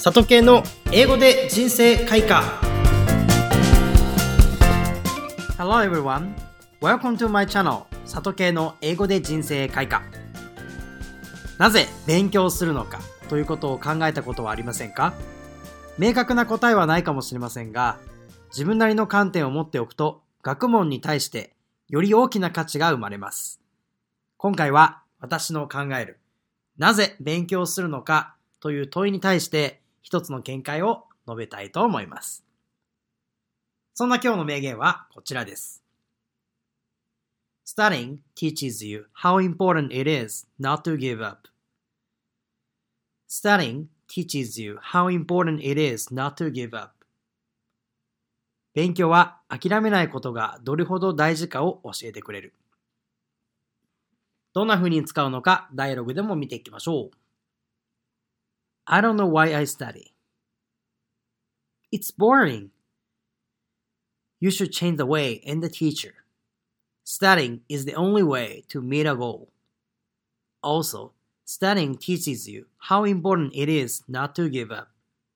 里系の英語で人生開花。 Hello everyone, welcome to my channel 里系の英語で人生開花。なぜ勉強するのかということを考えたことはありませんか？明確な答えはないかもしれませんが、自分なりの観点を持っておくと学問に対してより大きな価値が生まれます。今回は私の考えるなぜ勉強するのかという問いに対して一つの見解を述べたいと思います。そんな今日の名言はこちらです。Studying teaches you how important it is not to give up. Studying teaches you how important it is not to give up. 勉強は諦めないことがどれほど大事かを教えてくれる。どんな風に使うのかダイアログでも見ていきましょう。I don't know why I study. It's boring. You should change the way and the teacher. Studying is the only way to meet a goal. Also, studying teaches you how important it is not to give up.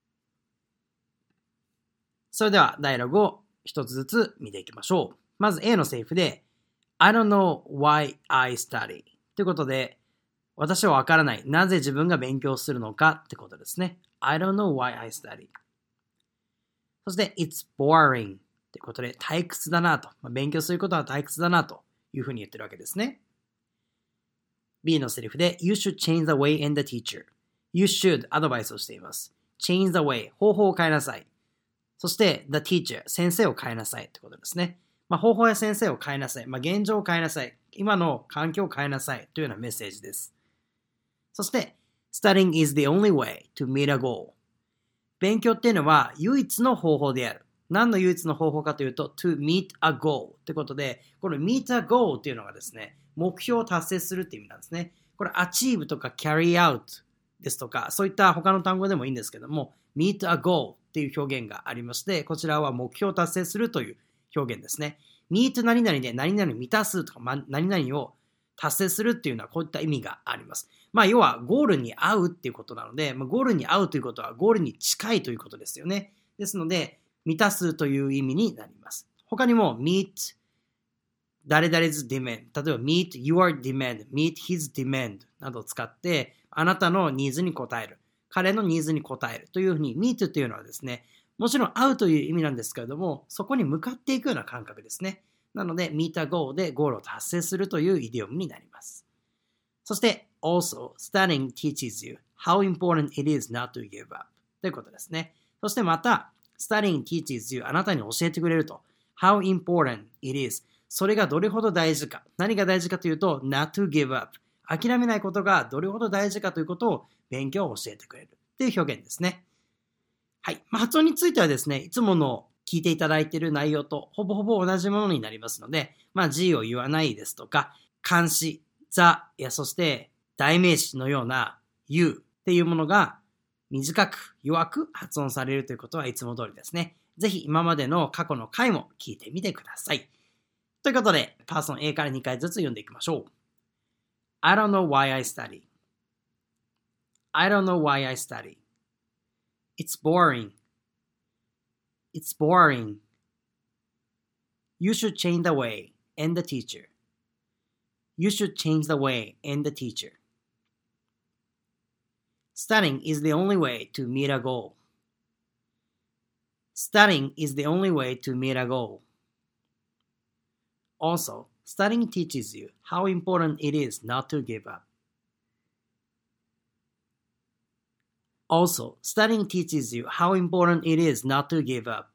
それではダイアログを一つずつ見ていきましょう。まず A のセリフで I don't know why I study ということで、私はわからない。なぜ自分が勉強するのかってことですね。I don't know why I study. そして It's boring ってことで退屈だなと。勉強することは退屈だなというふうに言ってるわけですね。B のセリフで You should change the way and the teacher. You should アドバイスをしています。Change the way 方法を変えなさい。そして the teacher 先生を変えなさいってことですね。方法や先生を変えなさい。現状を変えなさい。今の環境を変えなさいというようなメッセージです。そして、Studying is the only way to meet a goal. 勉強っていうのは唯一の方法である。何の唯一の方法かというと、to meet a goal ってことで、この meet a goal っていうのがですね、目標を達成するっていう意味なんですね。これ achieve とか carry out ですとか、そういった他の単語でもいいんですけども、meet a goal っていう表現がありまして、こちらは目標を達成するという表現ですね。meet 何々で何々満たすとか、何々を達成するっていうのはこういった意味があります。要はゴールに合うっていうことなので、ゴールに合うということはゴールに近いということですよね。ですので、満たすという意味になります。他にも meet 誰々 's demand、 例えば meet your demand、 meet his demand などを使ってあなたのニーズに応える、彼のニーズに応えるというふうに meet というのはですね、もちろん合うという意味なんですけれども、そこに向かっていくような感覚ですね。なので meet a goal でゴールを達成するというイディオムになります。そして also studying teaches you how important it is not to give up ということですね。そしてまた studying teaches you あなたに教えてくれると how important it is それがどれほど大事か、何が大事かというと not to give up 諦めないことがどれほど大事かということを勉強を教えてくれるという表現ですね。はい。発音についてはですね、いつもの聞いていただいている内容とほぼほぼ同じものになりますので、G を言わないですとか、冠詞、the やそして代名詞のような you っていうものが短く弱く発音されるということはいつも通りですね。ぜひ今までの過去の回も聞いてみてください。ということで、パーソン A から2回ずつ読んでいきましょう。I don't know why I study. I don't know why I study. It's boring. It's boring. You should change the way and the teacher. You should change the way and the teacher. Studying is the only way to meet a goal. Studying is the only way to meet a goal. Also, studying teaches you how important it is not to give up. Also, studying teaches you how important it is not to give up.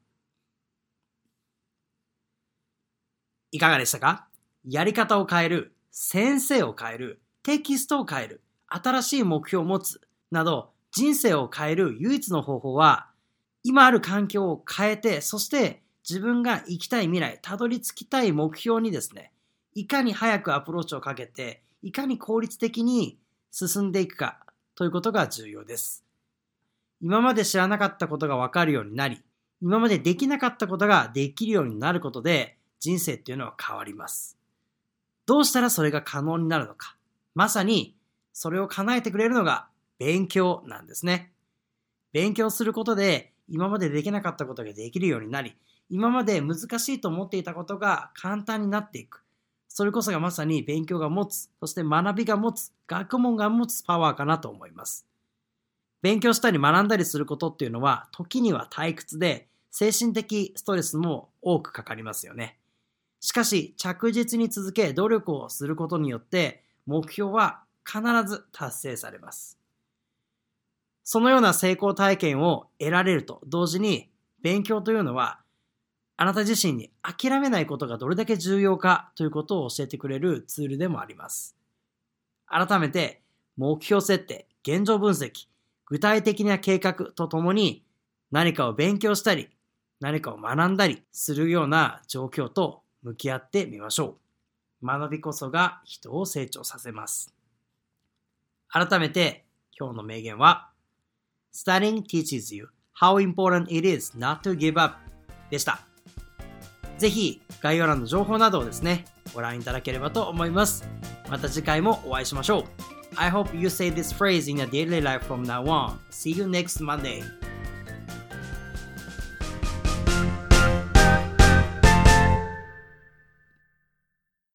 いかがでしたか？やり方を変える、先生を変える、テキストを変える、新しい目標を持つなど人生を変える唯一の方法は今ある環境を変えて、そして自分が行きたい未来、たどり着きたい目標にですね、いかに早くアプローチをかけて、いかに効率的に進んでいくかということが重要です。今まで知らなかったことが分かるようになり、今までできなかったことができるようになることで、人生っていうのは変わります。どうしたらそれが可能になるのか。まさにそれを叶えてくれるのが勉強なんですね。 勉強することで今までできなかったことができるようになり、今まで難しいと思っていたことが簡単になっていく。それこそがまさに勉強が持つ、そして学びが持つ、学問が持つパワーかなと思います。勉強したり学んだりすることっていうのは、時には退屈で、精神的ストレスも多くかかりますよね。しかし、着実に続け、努力をすることによって、目標は必ず達成されます。そのような成功体験を得られると同時に、勉強というのは、あなた自身に諦めないことがどれだけ重要かということを教えてくれるツールでもあります。改めて、目標設定、現状分析、具体的な計画とともに何かを勉強したり、何かを学んだりするような状況と向き合ってみましょう。学びこそが人を成長させます。改めて今日の名言は、Studying teaches you how important it is not to give up でした。ぜひ概要欄の情報などをですね、ご覧いただければと思います。また次回もお会いしましょう。I hope you say this phrase in your daily life from now on. See you next Monday.